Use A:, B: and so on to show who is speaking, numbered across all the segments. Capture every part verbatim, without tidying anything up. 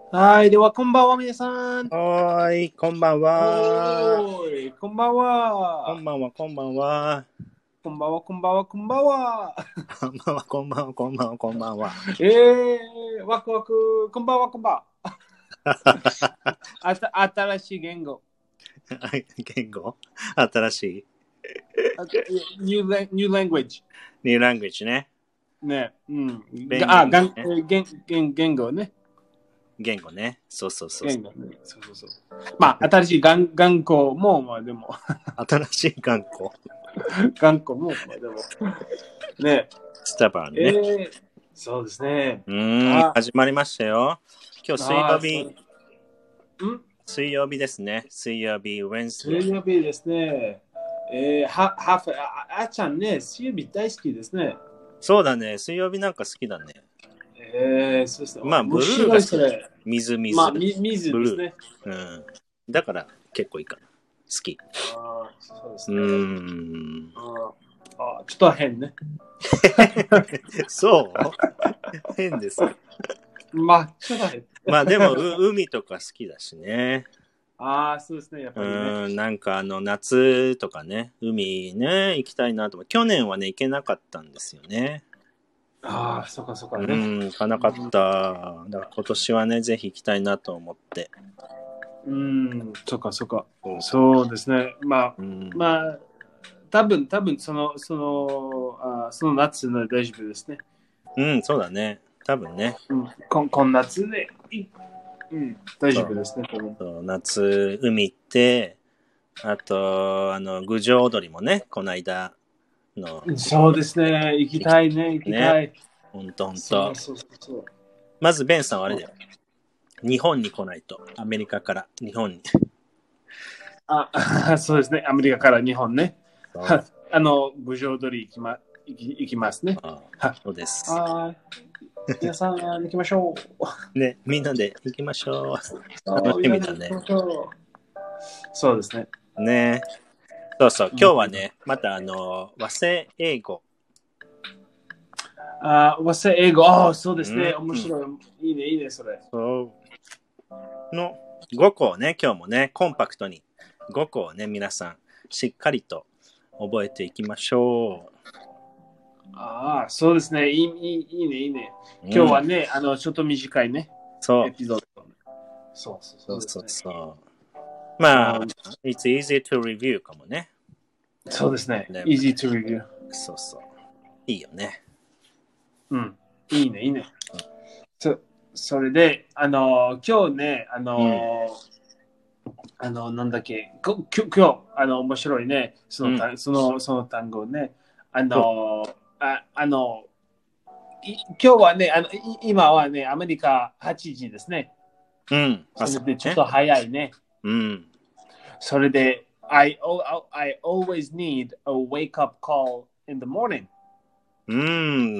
A: はい、ではこんばんは皆さん。
B: はーい、こんばんは。
A: おーい、こんばんは。
B: こんばんは、こんばんは。
A: こんばんは、こんばんは、こんばんは。
B: こんばんは、こんばんは、こんばんは、こんばんは。
A: えー、ワクワク、こんばんは、こんばんは。あた新しい言語。
B: 言語新しい。
A: New, new language。
B: ニューラングエッジね。
A: ね、うん。
B: 弁
A: あ、
B: 言語ね。
A: 言言言言語ね。
B: 言語ね。そうそうそう。
A: 言語ね。そうそうそう。まあ、新しい言言語も、まあでも。
B: 新しい言語。
A: 言語も、まあでも。ね。
B: スタバンね。
A: えー、そうですね。
B: うーん、始まりましたよ。今日水曜日。
A: ん
B: 水曜日ですね。水曜日、ウェンズデー。
A: 水曜日ですね。えー、は、は、あ、あちゃんね、水曜日大好きですね。
B: そうだね。水曜日なんか好きだね。
A: えー、そうですね。
B: まあ、ブルーが好き。水、水。
A: まあ、み水ですね。
B: うん。だから結構いいかな。好き。
A: あそうですね。
B: うーん。
A: あちょっと変ね。
B: そう変ですか。
A: まあ、ちょっと変。
B: まあでも海とか好きだしね。
A: ああ、そうですね、やっぱりね。
B: うん、なんかあの夏とかね、海ね、行きたいなと思って。去年はね、行けなかったんですよね。
A: ああ、そっかそっかね。
B: うん、行かなかった。だから今年はね、ぜひ行きたいなと思って。
A: うん、そっかそっか。そうですね。まあ、うん、まあ、多分多分その、その、あその夏の大丈夫ですね。
B: うん、そうだね。多分ね。
A: うん、こ今夏で、うん、大丈夫ですね。
B: そう夏、海行って、あと、あの、郡上踊りもね、この間の。
A: そうですね。行きたいね、行きたい。ね、
B: ほんとほんと。
A: そうそうそう。
B: まず、ベンさんはあれだよ。日本に来ないと。アメリカから日本に。
A: あ、そうですね。アメリカから日本ね。あの、郡上踊り行きま、行き行きますね。
B: あそうです。
A: はい。皆さん、行きましょ
B: う。ね、みんなで行きましょう。楽しみだね。
A: そうですね。
B: ね。そうそう。今日はね、またあの、和製英語。
A: あ、和製英語。あ、そうですね。面白い。いいね、いいね、それ。
B: そう。のごこをね、今日もね、コンパクトにごこをね、皆さん、しっかりと覚えていきましょう。
A: ああ、そうですね。いい、いい、いいね、いいね。今日はね、うん、あの、ちょっと短いね。
B: そう。
A: エピソード。そう
B: そうそうそう。まあ、it's easy to review かもね。
A: そうですね。easy to review。
B: そうそう。いいよね。
A: うん。いいね、いいね。そ, それで、あの、今日ね、あの、うん、あの、なんだっけ、今日、あの、面白いね、その、うん、その、その単語ね、あの、ああの、今日はね、あの、今はね、アメリカはちじですね。
B: うん。
A: それでちょっと早いね。
B: うん。
A: それで、I, I always need a wake-up call in the morning.
B: うん、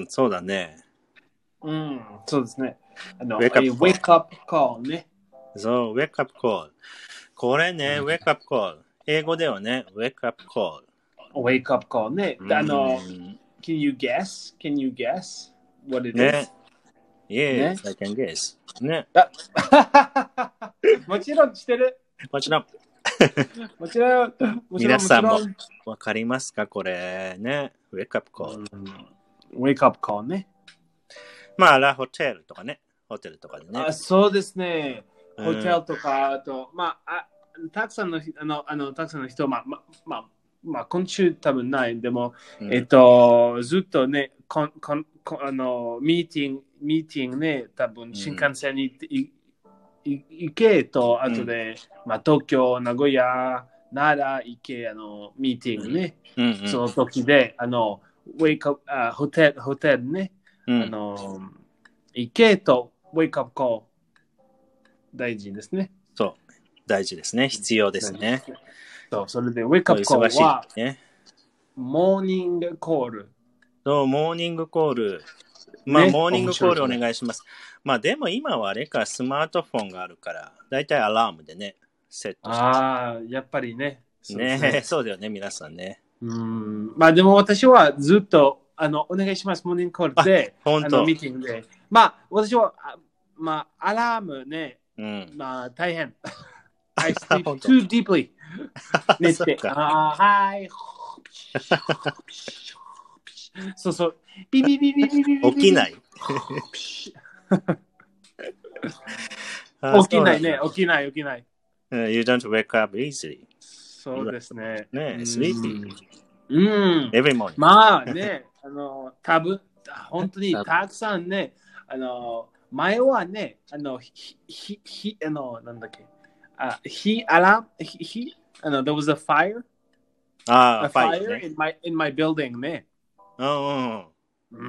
B: そうだね。
A: うん、そうですね。あの、wake-up call ね。
B: そう、wake-up call。これね、wake-up call。英語ではね、wake-up call。
A: wake-up call ね。あの、can you guess? Can you guess what it is?
B: ね。Yes, I can guess. ね。
A: もちろんしてる。
B: もちろん。
A: もちろん。
B: 皆さんもわかりますかこれね。wake-up call。
A: wake-up call ね。
B: まあ、ラホテルとかね。ホテルとかでね。
A: あ、そうですね。ホテルとか、あと、まあ、たくさんの、あの、あのたくさんの人、まあ、まあ、まあ、まあ、今週多分ない。でも、うん、えっと、ずっとね、こんこんこあの、ミーティング、ミーティングね、多分新幹線に行って、うん行けと、あとで、うん、まあ、東京、名古屋、奈良行け、あの、ミーティングね、うんうん、その時で、あの、ウェイクアップ、あ、ホテル、ホテルね、うん、あの、行けと、ウェイクアップコール、大事ですね。
B: そう、大事ですね。必要ですね。
A: そう、それで、ウェイクアップコールは、ね、モーニングコール。
B: そう、モーニングコール。まあ、ね、モーニングコールお願いします。まあ、でも今はあれか、スマートフォンがあるから、だいたいアラームでね、セットして。
A: ああ、やっぱりね。
B: そうね、ね、そうだよね、皆さんね。
A: うん。まあ、でも私はずっと、あの、お願いします、モーニングコールで、
B: あ、本当。
A: あの、ミーティングで。まあ、私は、 まあ、アラームね、
B: うん。
A: まあ、大変。I sleep too deeply. 寝て。あはい。そうそう。ビビビビビビビビ。
B: 起きない。
A: 起きないね。起きない、起きない。
B: You don't wake up easily.
A: そうですね。
B: ね、sleepy.
A: うん。
B: Every morning.
A: まあね、あの、多分本当にたくさんね、あの、前はね、あの、ひ、ひ、ひ、あの、なんだっけ、あ、ひ、アラーム、ひ、ひ、あの、there was a fire,
B: ああ、
A: a fire in my, in my building ね。
B: うん。
A: うん。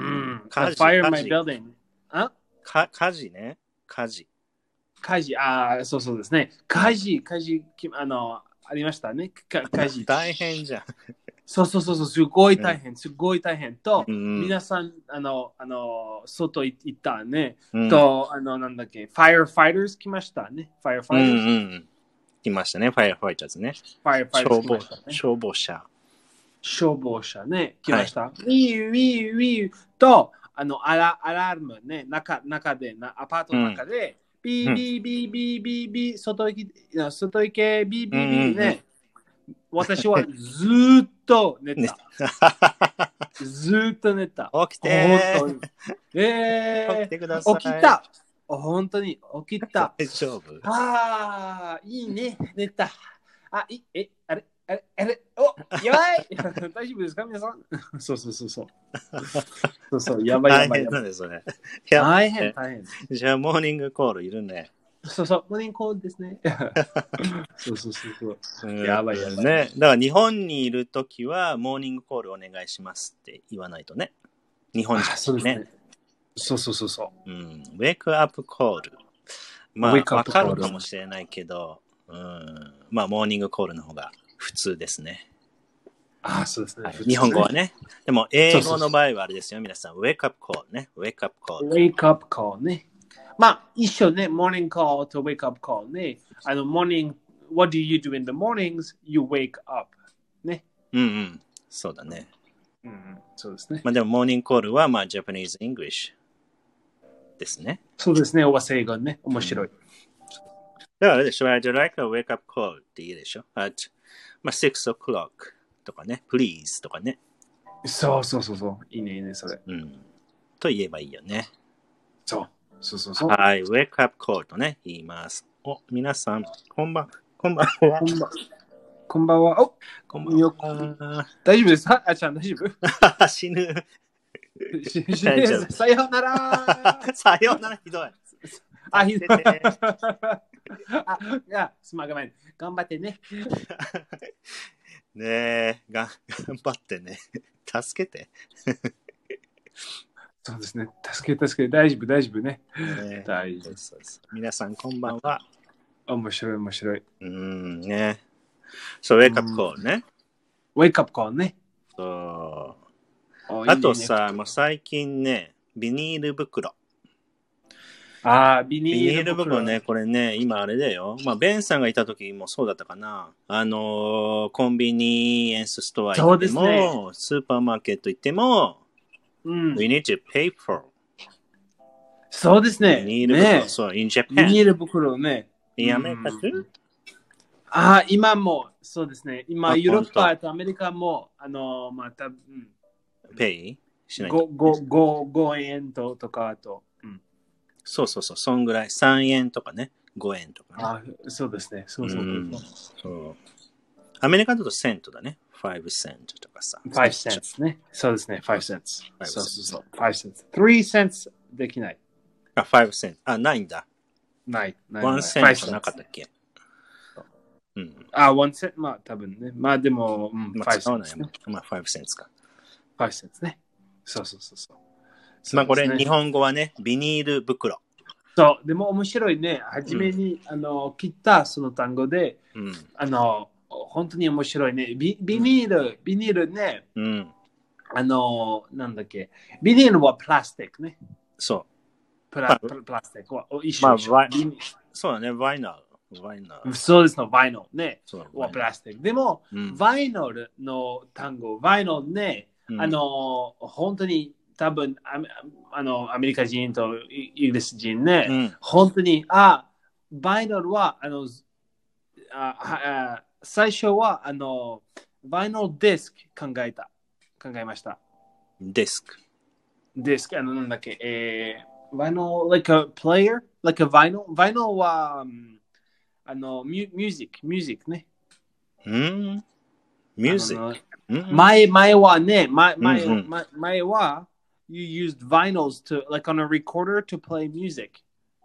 B: 火
A: a
B: 事、
A: fire in
B: 火
A: my
B: 事。
A: building. あ
B: か火事ね。火事。
A: 火事、ああ、そうそうですね。火事、火事、きあの、ありましたね。か火事。
B: 大変じゃん。
A: そうそうそうそう、すごい大変、すごい大変。と、
B: うん、
A: 皆さん、あの、あの、外行ったね。
B: うん、
A: と、あの、なんだっけ、firefighters 来ましたね。firefighters、うんうん、
B: 来ましたね、firefighters ね。
A: firefighters 来ましたね。
B: 消防車。
A: 消防車ね、来ました。はい、ウィーウィーウィーと、あの、アラアラームね、中中でな、アパートの中で、うん、ビービービービービービー、外行き、外行け、ビービービーね。うんうんうん、私はずーっと寝た。ずーっと寝た。
B: 起きて
A: 本当に。えー、
B: 起きてください。
A: 起きた。本当に起きた。
B: 大丈夫。
A: ああ、いいね。寝た。あ、いえ、あれあれあれお、やばい大丈夫ですか皆さんそうそうそうそう。そうそう、やばいやばいやばい。
B: 大変なんですね。
A: 大変大変。
B: じゃあ、モーニングコールいるね。
A: そうそう、モーニングコールですね。そうそうそうそう。やばいやばい。
B: ね。だから日本にいるときは、モーニングコールお願いしますって言わないとね。日本人ね。ね
A: そうそうそうそう。
B: うん。ウェイクアップコール。まあ、わかるかもしれないけど、うん、まあ、モーニングコールの方が普通ですね。
A: ああ、そうですね、
B: はい。日本語はね。でも、英語の場合はあれですよ、皆さん。ウェイクアップコールね。ウェイクアップコール。
A: ウェイクアップコールね。まあ、一緒ね。モーニングコールとウェイクアップコールね。あの、モーニング、what do you do in the mornings? You wake up. ね。
B: うんうん。そうだね。
A: うん、そうですね。
B: まあでも、モーニングコールは、まあ、Japanese English ですね。
A: そうですね。和製語ね。面白い。うん、
B: だからあれでしょ、I'd like a wake up call って言うでしょ。at まあ、six o'clock とかね、please とかね。
A: そうそうそうそう。いいね、いいね、それ。
B: うん。と言えばいいよね。
A: そう。そうそうそう。
B: はい、wake up call とね、言います。お、皆さん、こんばん、こんばんは。
A: こんばんこんばんは。お、
B: こんばんは。
A: 大丈夫ですかあちゃん、大丈夫
B: 死ぬ。
A: 大丈夫。さようなら。
B: さようなら、ひどい。
A: あ、ひどい。あ、いや、すまん、ごめん。頑張ってね。
B: ねえ、が頑張ってね。助けて。
A: そうですね。助け、助け、大丈夫、大丈夫ね。
B: ね
A: 大丈夫。
B: そうそうそう。皆さん、こんばんは。
A: 面白い、面白い。
B: うんね。そう、ウェイクアップコールね。
A: ウェイクアップコールね。
B: そう。あとさ、いいね、もう最近ね、ビニール袋。
A: ああ、ビニール袋。
B: ビニール袋ね、これね、今あれだよ。まあ、ベンさんがいた時もそうだったかな。あのー、コンビニエンスストア行っても、ね、スーパーマーケット行っても、うん、We need to pay for.
A: そうですね。
B: ビニール袋。ね、そう、in Japan.
A: ビニール袋ね。
B: In America too?
A: ああ、今も、そうですね。今、ヨーロッパとアメリカも、あの、また、うん。
B: Pay? しない
A: と。ごえんとかと。うん。
B: そうそうそう、そんぐらい。さんえんとかね。ごえんとかね。
A: あそうですね。そうそうそう。うん、
B: そう。アメリカだとセントだね。ごセントとかさ。
A: ごセントね。そうですね。ごセント。そうそうそう。ごセント。さんセントできない。
B: あ、ごセント。あ、ないんだ。
A: ない。
B: いちセントなかったっけ？
A: うん。あ、いちセント。まあ、多分ね。まあ、でも、うん、
B: まあ、使わないもん。まあ、ごセントか。
A: ごセントね。そうそうそうそう。
B: まあ、これ、日本語はね、ビニール袋。
A: そう、でも面白いね。はじめに、うん、あの切ったその単語で、うん、あの、本当に面白いね。ビ, ビニール、うん、ビニールね、うん、あの、なんだっけ、ビニールはプラスチックね。
B: そう。
A: プ ラ, プラスチックは一緒、
B: まあ、
A: 一緒。
B: そうだね、バイナル。バイナル。
A: そうですの、バイナルね。はプラスチック。でも、うん、バイナルの単語、バイナルね、うん、あの、本当に多分ああのアメリカ人とイギリス人ね、
B: うん、
A: 本当に、あ、バイナルは、あの、ああ最初は、あの、バイナルディスク考えた。考えました。
B: ディスク。
A: ディスク、あの、なんだっけ、えー、バイナル、like a player? Like a vinyl? Vinyl は、あの、ミュージック、ミュージックね。
B: うん、ミュージック。
A: 前、前はね、前、前、うんうん、前は、you used vinyls to, like on a recorder to play music.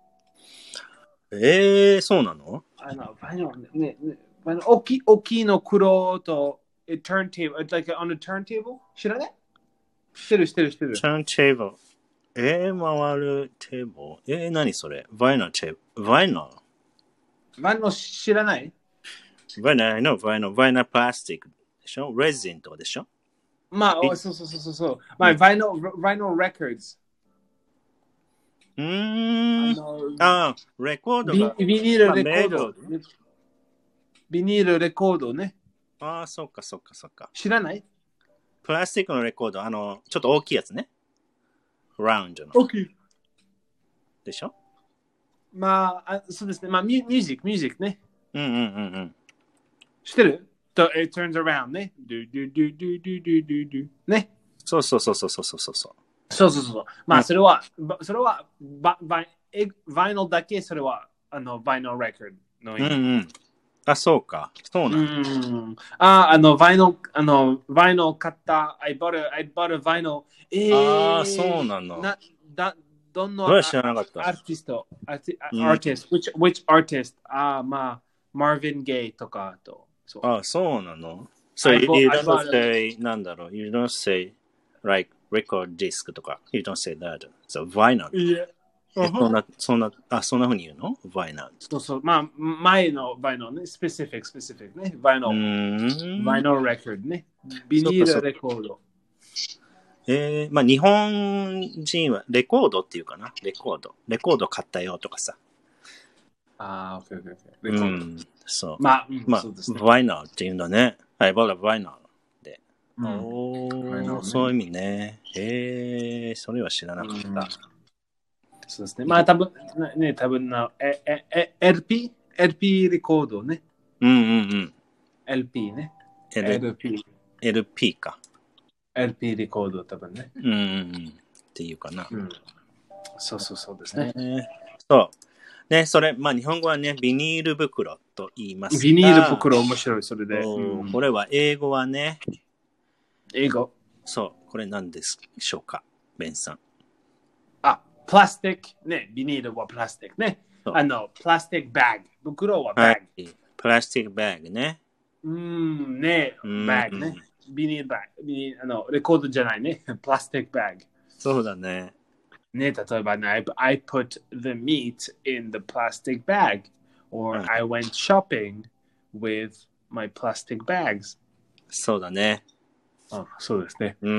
B: えー、そうなの？
A: あの、バイナルね、ね、大きい、大きいの黒と、turntable, like on a turntable? 知らない？知ってる、知ってる、知ってる。
B: turntable。えー、回るテーブル。えー、何それ？バイナルテーブル。バイナル？
A: バイナル知らない？
B: バイナル、no、バイナル、バイナルプラスティックでしょ？レジンとかでしょ？
A: まあ、そうそうそうそう。まあ、バイナル、バイナルレコード。
B: うーん。ああ、レコードが。
A: ビニールレコード。ビニールレコードね。
B: ああ、そっかそっかそっか。
A: 知らない？
B: プラスチックのレコード、あの、ちょっと大きいやつね。ラウンドの。
A: 大きい。
B: でしょ？
A: まあ、そうですね。まあ、ミュージック、ミュージックね。
B: うんうんうんうん。
A: 知ってる？ It turns around ね。ドゥドゥドゥドゥドゥドゥドゥドゥね。
B: そうそうそうそうそうそうそう。
A: そうそうそう。まあ、それは、それは、バイナルだけ、それは、あの、バイナルレコードの意味。
B: うんうん。あ、そうか。そうなんだ。
A: うん。あ、あの、バイナル、あの、バイナル買った。I bought a, I bought a vinyl. えー、
B: ああ、そうなの。
A: な、だ、どの、
B: それは知らなかった。
A: アーティスト、アーティスト、which, which artist? あ、まあ、Marvin Gaye とかと。
B: あ、そうなの。So you, you don't say, なんだろう、you don't say, like, record disc とか。You don't say that. So, vinyl.
A: Yeah.
B: そんな、そんな、あ、そんなふうに言うの？ vinyl。
A: そうそう。まあ、前の vinyl ね。specific, specific ね。vinyl。vinyl record ね。ビニールレコード。
B: えー、まあ日本人はレコードっていうかな。レコード。レコード買ったよとかさ。
A: ああ、オッケーオッケーオッケ
B: ー。レコード。うん、そう。
A: まあ、うん、
B: まあ、
A: そうですね。
B: vinyl っていうんだね。はい、バラ vinyl で。うん、おー、ね、そういう意味ね。えー、それは知らなかった。うん、
A: そうですね。まあ多分、ね、多分な、え、え、え、エルピー? エルピー レコードね。
B: うんうんうん。
A: エルピー ね。
B: エルピー。エルピー か。
A: エルピー レコード多分ね。
B: うんうんうん。っていうかな。うん、
A: そうそうそうですね。
B: えー、そう。ね、それ、まあ日本語はね、ビニール袋と言いますが。
A: ビニール袋面白い、それで。
B: うん、これは英語はね。
A: 英語。
B: そう。これ何でしょうか、ベンさん。
A: あ、プラスティック。ね、ビニールはプラスティックね。あの、プラスティックバッグ。袋はバッグ。はい、
B: プラスティックバッグね。
A: うん、ね、バッグね。ビニールバッグ。ビニール、あの、レコードじゃないね。プラスティックバッグ。
B: そうだね。
A: ね、例えばね、I put the meat in the plastic bag. Or、うん、I went shopping with my plastic bags.
B: そうだね。
A: あ、そうですね。
B: うん。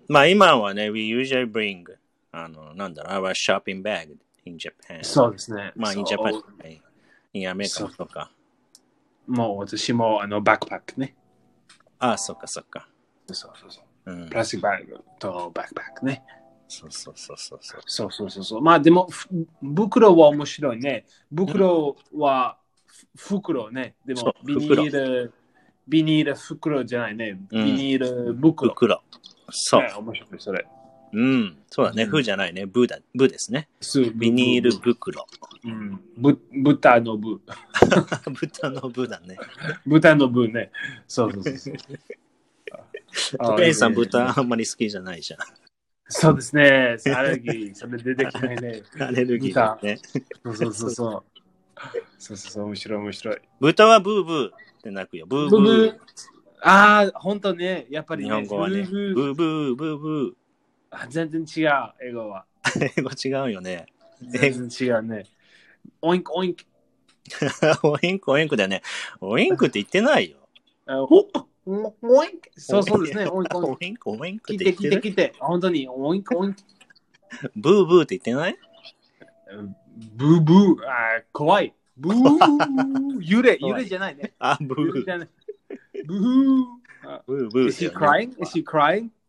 B: まあ今はね、we usually bring あの、なんだろう、our shopping bag in Japan.
A: そうですね。
B: まあ in Japan、in アメリカとか。
A: もう私もあのバックパックね。
B: ああ、そっかそっか。
A: そうそうそう。うん、プラスティックバッグとバックパックね。
B: そうそうそうそう。
A: そうそうそうそう。まあでも、袋は面白いね。袋は袋ね。でも、ビニール、ビニール袋じゃないね。ビニール袋。
B: 袋。そう。
A: ね、面白い、それ。
B: うん。そうだね。ふじゃないね。ブだ。ブですね。ビニール袋。
A: うん。ぶ、豚のブ。
B: 豚のブだね。
A: 豚のブね。そうそうそう。
B: お姉さん、豚あんまり好きじゃないじゃん。
A: そうですね。アレルギー、それ出てきないね。
B: アレルギーだね。
A: そうそうそうそう。そうそうそう、面白い面白い。
B: 豚はブーブーって鳴くよ。ブーブー。ブーブー
A: ああ、ほんとね。やっぱり、ね、
B: 日本語はね。ブーブー、ブーブー、ブー。
A: あ、全然違う、英語は。
B: 英語違うよね。
A: 全然違うね。オインク、オインク。
B: オインク、オインクだよね。オインクって言ってないよ。
A: オインク。そうそうですね。オインク、
B: オインク、オインクって
A: 言ってる。来て来て来て。本当に、オインク、オインク。
B: ブーブーって言ってない？
A: ブーブー。あ、怖い。ブー。揺れ、揺れじゃないね。
B: あ、ブー。
A: じゃない。ブー。
B: ブーブー。
A: Is he crying? Is he crying?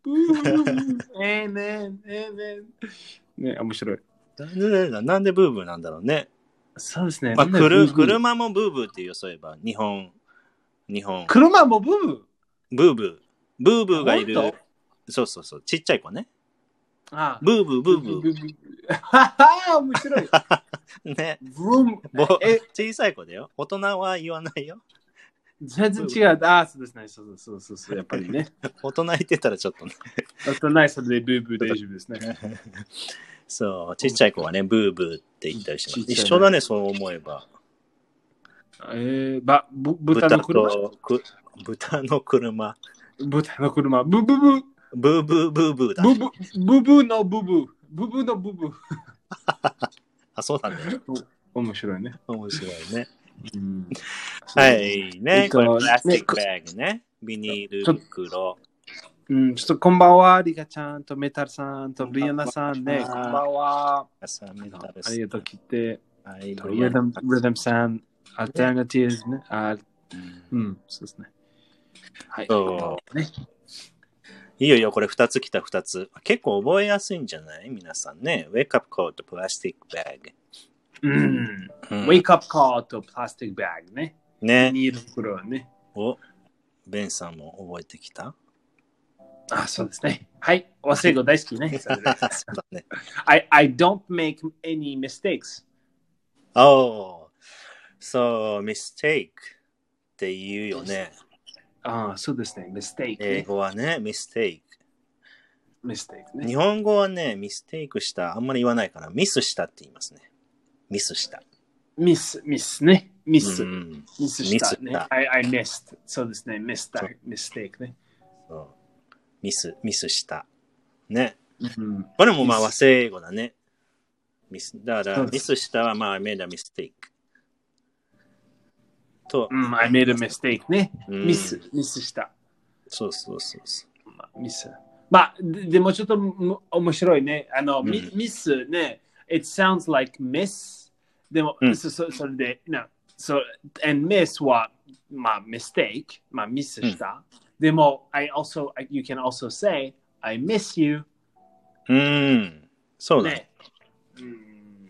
A: えーねえーねね面白い。
B: なんでブーブーなんだろうね。
A: そうですね。
B: まあ、くる車もブーブーって言う、そういえば。日本。日本。
A: 車もブーブー
B: ブーブー。ブーブーがいる。そうそうそう。ちっちゃい子ね。
A: ああ
B: ブーブーブーブー。ブーブー
A: はは面白い。
B: ね。
A: ブーム
B: え小さい子だよ。大人は言わないよ。
A: 全然違う。ああ、そうですね。そうそうそうそう。やっぱりね。
B: 大人言ってたらちょっとね。
A: 大人はそれでブーブー大丈夫ですね。
B: そう、ちっちゃい子はね、ブーブーって言ったりします。一緒だね、そう思えば。
A: えー、ば、ぶ、豚の車
B: 豚の車。
A: 豚の車。ブブブ。
B: ブーブーブーブーだ。
A: ブブ、ブブのブブ。ブブのブブ。
B: あ、そうなんだよ。
A: 面白いね。
B: 面白いね。うん、はい、ね。これプラスティックバッグね。ビニール袋。
A: うん、ちょっとこんばんは、リカちゃんとメタルさんとブリアナさんね。こんばんは。ありがとう来て。はい、リズム、リズムさん、アルターナティブね。あ、うん、そうですね。はい。
B: そうね。いいよいよ、これふたつ来たふたつ。結構覚えやすいんじゃない皆さんね。ウェイクアップコート、プラスティックバッグ。
A: うん。ウェイクアップコート、プラスティックバッグね。
B: ね。
A: ビニール袋ね。
B: お、ベンさんも覚えてきた
A: あ、そうですね。はい。和製語大好きね。そう
B: だね。
A: I, I don't make any mistakes.
B: Oh, so mistake って言うよね。
A: ああ、そうですね。mistake、ね。
B: 英語はね、mistake。
A: mistake ね。
B: 日本語はね、ミステイクした、あんまり言わないから、ミスしたって言いますね。ミスした。
A: ミス、ミスね。ミス。
B: うん、
A: ミスした、ね。した I, I missed. そうですね。ミスた、ミステイクね。
B: そうミス、ミスした。ね。
A: うん、
B: これもまあ和製英語だね。ミス、だから、ミスしたはまあ、I made a mistake。と、
A: うん、I made a mistake ね。ミス、ミスした。
B: そうそうそうそう。
A: まあ、ミス。まあ、で, でもちょっと面白いね。あの、うん、ミ, ミスね。It sounds like miss. でも、うん、そ, そ, それで、no. So, and miss は、まあ、mistake。まあ、ミスした。うん、でも、I also, you can also say, I miss you.
B: うん。そうだね。
A: うん、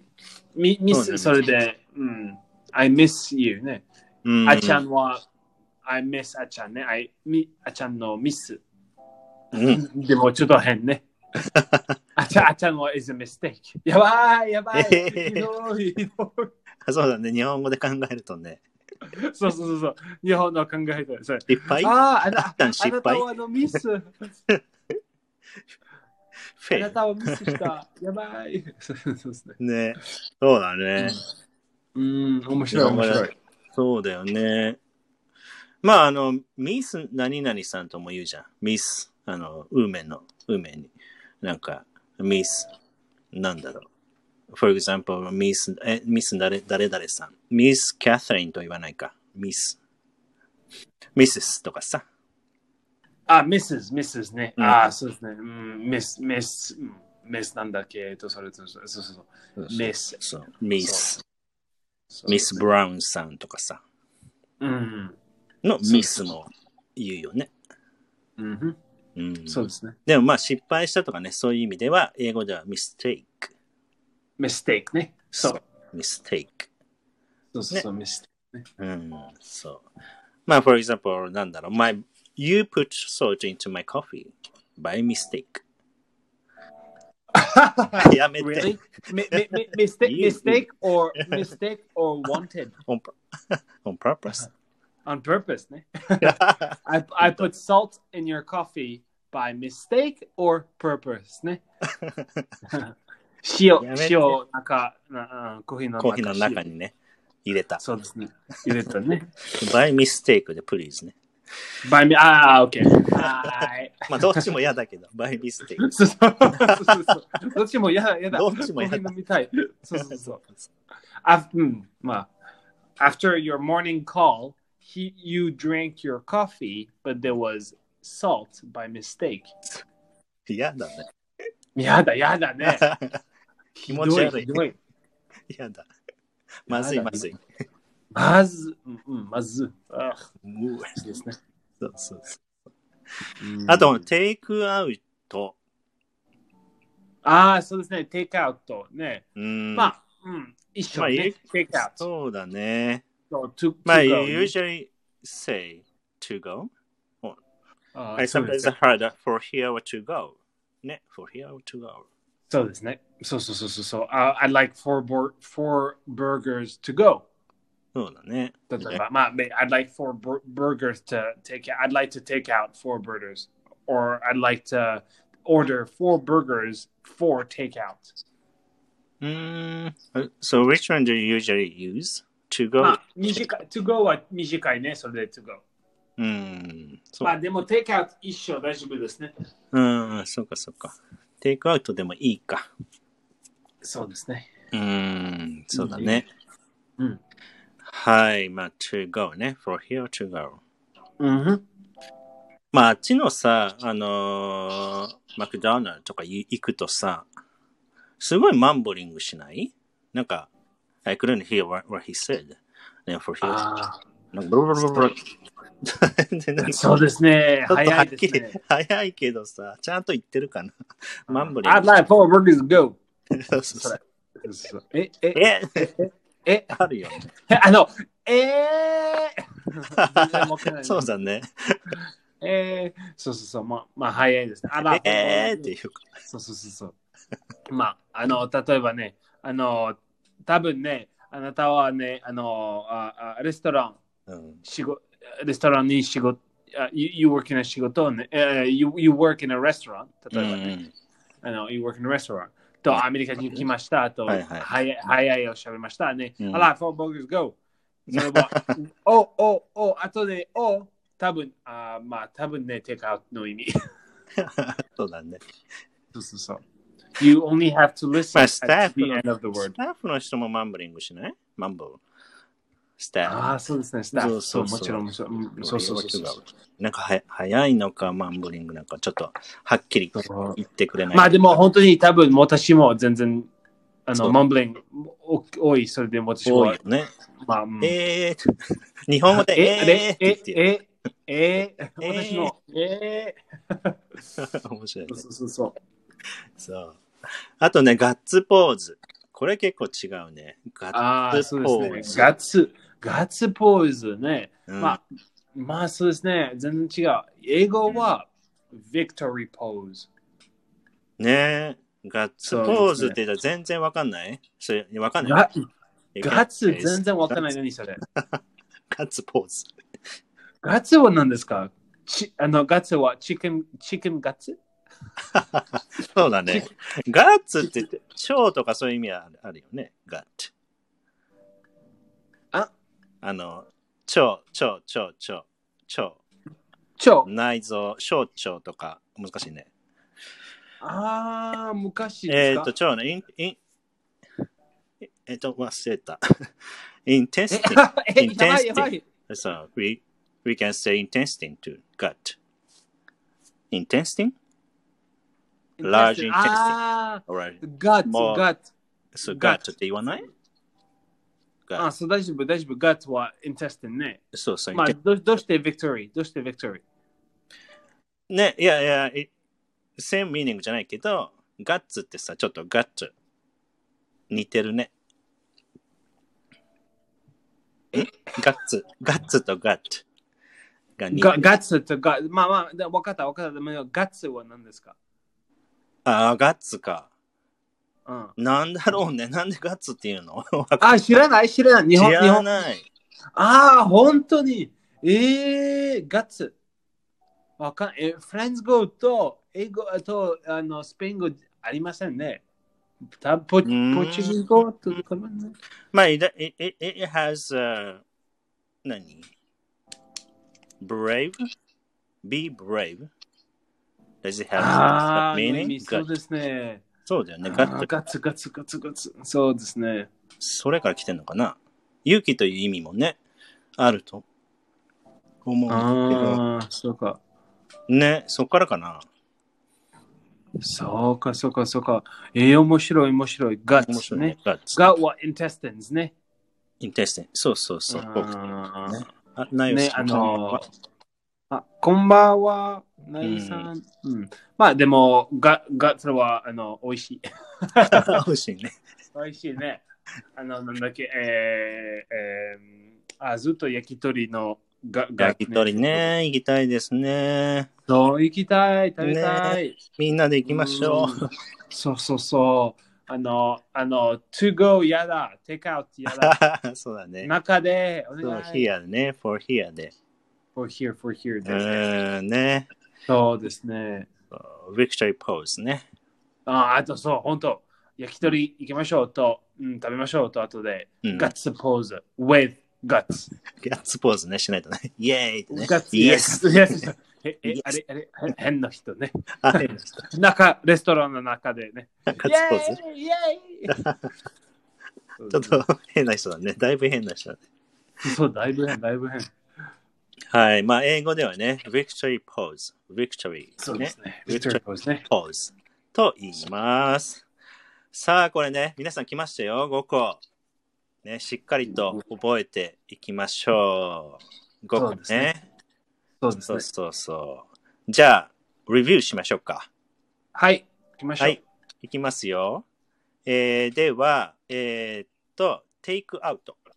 A: ミ, ミス、それで、うん、I miss you ね。うん、あちゃんは、I miss あちゃんね。I, みあちゃんのミス。うん、でもちょっと変ね。あちゃん、あちゃんは is a mistake。やばい、やばい。ひどい、ひどい。
B: そうだね。日本語で考えるとね。
A: そうそうそうそう。日本の考えと。
B: 失敗
A: ああ、あなた
B: 失
A: 敗はのミス。あなたはミスした。やばい。そうですね。
B: ね。そうだね。
A: うん、面白い、面白い。
B: そうだよね。まあ、あの、ミス何々さんとも言うじゃん。ミス、あの、梅の、梅に。なんか、ミス、なんだろう。For example, ミス、え、ミス誰、誰々さん。ミス・キャサリンと言わないか。ミス。ミセスとかさ。
A: あ、ミセス、ミセスね。うん、あ、そうですね。うん、ミス、ミス、ミスなんだっけえっと、それと、そうそうそう。ミス。
B: そう、ミス。ミス・ブラウンさんとかさ。
A: うん。
B: のミスも言うよね。
A: うんうん、そうですね。
B: でもまあ失敗したとかね、そういう意味では、英語ではミステイク。
A: ミステイクね。そう。
B: ミステイク。
A: そうそうそう、ミステイ
B: クね。うん、そう。まあ、for example, なんだろう。My, you put salt into my coffee by mistake. やめて。
A: Really? Mistake, mistake or mistake or wanted?
B: On, on purpose.
A: On purpose, ね。I, I put salt in your coffee by mistake or purpose, ね。塩、塩、なんか、コーヒーの中
B: コーヒーの中にね、入れた。
A: そうですね。入れたね。
B: by mistake で please ね。
A: by me、ああ、OK。はい。
B: まあ、どっちも嫌だけど、by mistake。
A: そうそうそうそう。どっちも嫌だ、嫌だ。
B: どっちも嫌だ。
A: コーヒー飲みたい。そうそうそう。あ、うん、まあ、after your morning call, he, you drank your coffee, but there was salt by mistake.
B: 嫌だね。
A: 嫌だ、嫌だね。
B: 気持ち悪い。
A: ひどい。
B: 嫌だ。まずい、まずい。
A: まず、うん、まず。あ
B: そうですね。そうそうそう。
A: うん、
B: あと、テイクアウト。
A: ああ、そうですね。テイクアウトね。
B: うん。
A: まあ、うん、一緒ね。
B: まあ、
A: テイクアウト。
B: そうだね。
A: So, to,
B: まあ、
A: to
B: you
A: go,
B: usually say to go.、Uh, I
A: そうで
B: sometimes
A: すね。
B: heard for here or to go. ね、for here or to go.
A: そうですね。そうそうそうそうそう。Uh, I'd like four, bur- four burgers to go.
B: そうだね。
A: 例えば、まあ、I'd like four bur- burgers to take out. I'd like to take out four burgers. Or I'd like to order four burgers for takeout.
B: うーん。So which one do you usually use? To go?
A: まあ、短い。to go は短いね。それで to go。
B: うん。
A: まあ、でも takeout 一緒大丈夫ですね。
B: うん、そうかそうか。テイクアウトでもいいか。
A: そうですね。
B: うーん、そうだね。
A: うん。
B: はい、まあ、to go ね。for here to go。
A: うん。
B: まあ、あっちのさ、あのー、マクドナルドとか行くとさ、すごいマンブリングしない？なんか、I couldn't hear what, what he said. And for here.
A: あ
B: なんかブルブルブルブル
A: そうですね。
B: ちょっとは
A: 早
B: っきり、
A: いですね。
B: 早いけどさ、ちゃんと言ってるかな。マンブリング。
A: I'd like four burgers to go.
B: そうそうそう。
A: え、え、
B: え、
A: え、
B: あるよね。
A: あの、えー、
B: そうだね。
A: えー、そうそうそう、まあ、まあ、早いですね。あら、
B: えーっていうか。
A: そうそうそうそう。まあ、あの、例えばね、あの、多分ね、あなたはね、あの、あレストラン、うん、仕事レストランに仕事、uh, you, you work in a 仕事ね、uh, you, you work in a restaurant、例えばね、うん、あの、you work in a restaurant。と、アメリカに来ました。と、はいはい、早い、早いをしゃべりましたね。あら、four burgers go。それは、お、お、お、あとで、お、多分、あまあ、多分ね、テイクアウトの意味。
B: そうだね。
A: そうそうそう。You only have to listen
B: at
A: the end of the word.
B: スタッフの人もマンブリングしない？マンブル。スタッフ。
A: ああ、そうですね、スタッフ。そう、もちろん、もちろん。そうそうそう。
B: なんかは早いのか、マンブリングなんかちょっとはっきり言ってくれない。
A: まあでも本当に多分私も全然、あの、マンブリング多い、それで私も。
B: 多いよね。
A: まあ、うん、
B: えー、日本語でえーって言ってる。
A: え、え、え、私の、え
B: ー。面白いね。
A: そうそうそう。
B: そう。あとね、ガッツポーズ。これ結構違うね。
A: ガッツポーズ。ガッツ、ガッツポーズね。うん、まあ、まあそうですね。全然違う。英語は、victory pose。
B: ねえ。ガッツポーズって言ったら全然わかんない？それ、わかんない。
A: ガッツ全然わかんない。何それ。
B: ガッツポーズ。
A: ガッツは何ですか？ちあのガッツはチキン、チキンガッツ
B: そうだね。ガッツって言って、腸とかそういう意味はあるよね。ガッツ。
A: あ
B: あの、腸、腸、腸、腸、腸。
A: 腸。
B: 内臓、小腸とか、難しいね。
A: ああ、昔ですか？
B: えっと、腸ね、イン、イン、えっと、忘れた。intestine。intestine。そう、we, we can say intestine to gut. intestine?Large intestine.
A: ああ、gut, gut.
B: そう、gut って言わない？
A: あ、そう、大丈夫、大丈夫。gut は intestine ね。
B: そうそう。
A: まあ、どどうして victory? どうして victory?
B: ね、いやいや、same meaning じゃないけど、guts ってさ、ちょっと gut 似てるね。えガッツ、ガッツとガッツ
A: が似てる。ガッツとガッツ、まあまあ、わかったわかった。でもガッツは何ですか？
B: ああ、ガッツか。
A: うん。
B: なんだろうね。なんでガッツっていうの？
A: あ、知らない知らない。日本
B: 知らない。
A: ああ、本当に。ええー、ガッツ。わかんえ、フランス語と英語とあのスペイン語ありませんね。ポ, ポチギ語とかもね。
B: まあ、it, it, it has、uh, 何 brave? Be brave? Does it have
A: that
B: meaning?
A: そうですね。
B: そうだよね。ガッツ。
A: ガツガツガツガツ。そうですね。
B: それから来てんのかな？勇気という意味もね、あると思うんだけど。
A: ああ、そうか。
B: ね、そっからかな。
A: そうか、そうか、そうか。えー、面白い、面白い。ガッツ、ね。面白いね。ガッツ。ガッは intestines ね。
B: intestine。そうそうそう。
A: あ
B: ね、あ、ないよ、
A: ね、あのー、 あ、こんばんは、なぎさん。うん。うん、まあでも、が、が、それは、あの、美味しい。
B: 美味しいね。
A: 美味しいね。あの、なんだっけ、えー、えー、あ、ずっと焼き鳥のが、が、
B: 焼き鳥ね、行きたいですね。
A: そう、行きたい、食べたい。
B: ね、みんなで行きましょう。う
A: そうそうそう。あの、あの、to go やだ、take out やだ。
B: そうだね。
A: 中で、お
B: そう、
A: 願い。
B: here ね、for here で。
A: for here, for here で。
B: うん、ね。
A: そうですね。
B: victory pose ね。
A: あ、あとそう、本当焼き鳥行きましょうと、うん、食べましょうと、あとで、うん、ガッツポーズ、with guts。
B: ガッツポーズね、しないとね。イェーイってね。
A: ガッツ、イエス。イエス。え、え、あれ、あれ、変な人ね。中、レストランの中でね。
B: ガッツポーズ
A: イエーイ
B: ちょっと変な人だね。だいぶ変な人だね。
A: そう、だいぶ変、だいぶ変。
B: はい。まあ、英語ではね、victory pose。victory。
A: そうですね。
B: victory pose ね。pose と言います。さあ、これね、皆さん来ましたよ。ごこ。ね、しっかりと覚えていきましょう。ごこね。
A: そうですね。
B: そうそうそう。じゃあ、レビューしましょうか。
A: はい。行きましょう。はい。
B: いきますよ。えー、では、えー、っと、take out。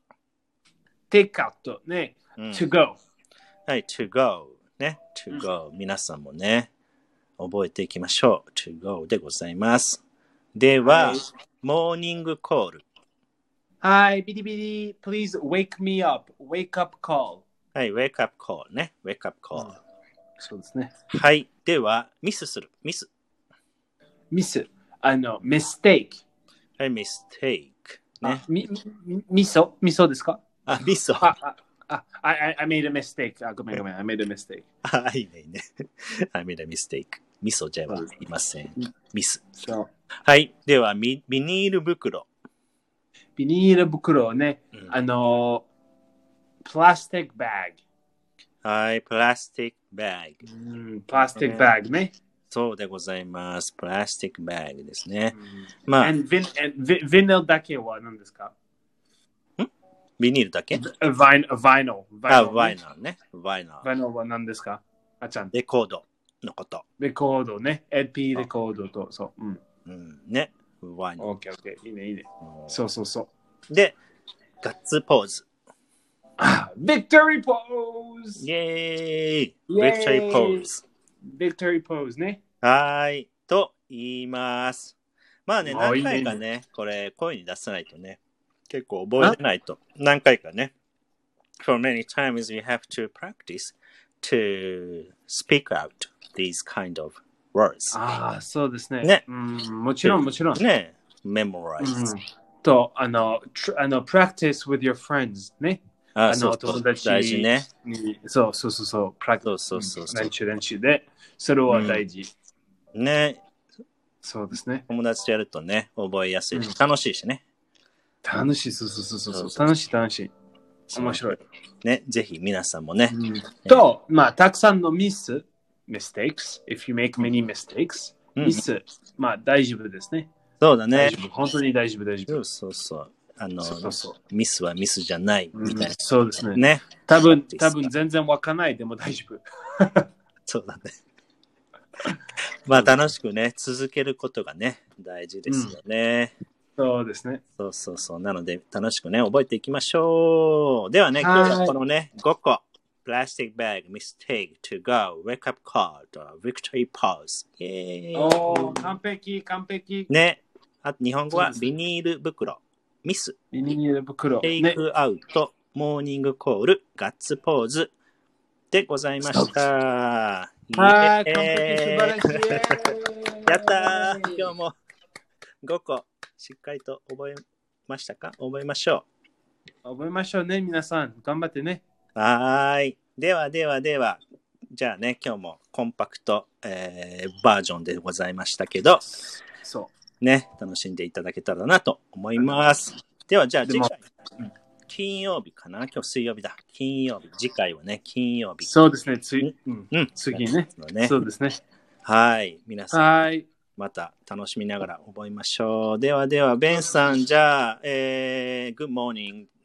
A: take out ね。うん、to go。
B: はい、to go。ね。to go、うん。皆さんもね、覚えていきましょう。to go でございます。では、はい、モーニングコール。
A: はい、ビリビリ、please wake me up. wake up call。
B: はい、wake up call ね。wake up call、うん。
A: そうですね。
B: はい。では、ミスする。ミス。
A: ミス。あの、mistake。
B: はい、mistake。ね。
A: み、み、みそみそですか？
B: あ、みそ。
A: あ、あ、あ、I, I made a mistake. あ、ごめんごめん。I made a mistake.
B: あ、いいね、いいね。I made a mistake. みそじゃいません。ミス。はい。では、ビニール袋。
A: ビニール袋ね。うん、あの、プラスティックバッ
B: グ。はい、プラスティックバッグ。
A: うん、プラスティックバッグね。
B: そうでございます。プラスティックバッグですね。うん、まあ。
A: ヴィニルだけは何ですか？
B: んビニールだけ？
A: ヴァイノル。
B: あ、ヴァイノルね。ヴァイノル。
A: ヴァイノルは何ですか？あちゃん。
B: レコードのこと。
A: レコードね。エルピー レコードと、そう。うん。
B: うん、ね。ヴァイノル。
A: オッケーオッケー。いいね、いいね。そうそうそう。
B: で、ガッツポーズ。
A: あ、ビクトリーポーズ！
B: イェーイ！ビクトリーポーズ。
A: ビクトリーポーズね。
B: はい。と言います。まあね、何回かね、これ声に出さないとね、結構覚えてないと。何回かね。For many times you have to practice to speak out these kind of words.
A: ああ、そうですね。
B: ね。
A: うん、もちろん、もちろん。
B: ね。memorize、うん。
A: と、あの、あの、practice with your friends ね。
B: あの、友達大事ね。
A: そうそうそうそう。プラク
B: そうそうそう
A: 練習練習で、それは大事。
B: うん、ね。
A: そうですね。
B: 友達とやるとね、覚えやすいし、うん、楽しいしね。
A: 楽しい、そうそうそうそう。楽しい、楽しい。面白い。
B: ね、ぜひ皆さんもね。
A: うん、と、まあ、たくさんのミス、mistakes, if you make many mistakes、うん、ミス、まあ、大丈夫ですね。
B: そうだね。
A: 本当に大丈夫、大丈夫。
B: そうそうそう。あのそうそうミスはミスじゃないみたいな、うん、
A: そうですね。
B: ね。
A: 多分、多分全然わかんないでも大丈夫。
B: そうだね。まあ楽しくね、続けることがね、大事ですよね、
A: うん。そうですね。
B: そうそうそう。なので楽しくね、覚えていきましょう。ではね、今日はこのね、ごこ。Plastic bag, mistake, to go, wake up call, victory pause. イェーイ。
A: おー、完璧、完璧。
B: ね。あと日本語はビニール袋。ミス、
A: ビニール袋、
B: テイクアウト、ね、モーニングコール、ガッツポーズでございました。
A: はい、完璧、素晴らしい。
B: やったー。今日もごこしっかりと覚えましたか？覚えましょ
A: う。覚えましょうね、皆さん。頑張ってね。
B: はい。ではではでは、じゃあね、今日もコンパクト、えー、バージョンでございましたけど、
A: そう。
B: ね、楽しんでいただけたらなと思います。では、じゃあ次回、金曜日かな？今日水曜日だ。金曜日。次回はね、金曜日。
A: そうですね。つい、うん。うん、次ね。
B: ね。
A: そうですね。
B: はい。皆さん、はい。また楽しみながら覚えましょう。ではでは、ベンさん、じゃあ、えー、Good morning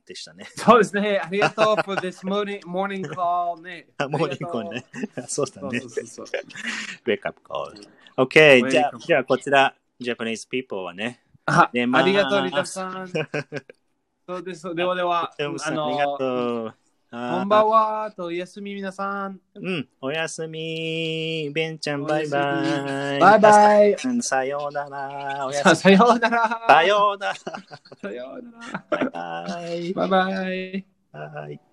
B: でしたね。
A: そうですね。ありがとう for this morning, morning call ね。
B: モーニングコールね。そうだね。
A: そうそうそうそう。
B: Wake up call。OK。じゃあ、じゃあこちら、Japanese people はね。
A: あ、ありがとう、リタさん。そうです。ではでは、
B: あの、ありがとう。
A: こんばんはと、おやすみ皆さん。
B: うん、おやすみ。ベンちゃん、バイバイ。
A: バイバイ。
B: さようなら。おや
A: すみ。さようなら。
B: さようなら。
A: さようなら。
B: バイバイ。
A: バイバイ。
B: バイ。